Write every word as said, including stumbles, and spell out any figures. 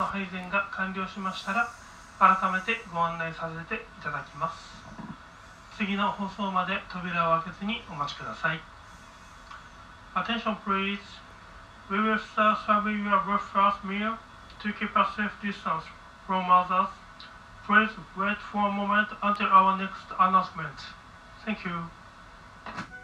配膳が完了しましたら、改めてご案内させていただきます。次の放送まで扉を開けずにお待ちください。Attention please. We will start serving your breakfast meal to keep a safe distance from others. Please wait for a moment until our next announcement. Thank you.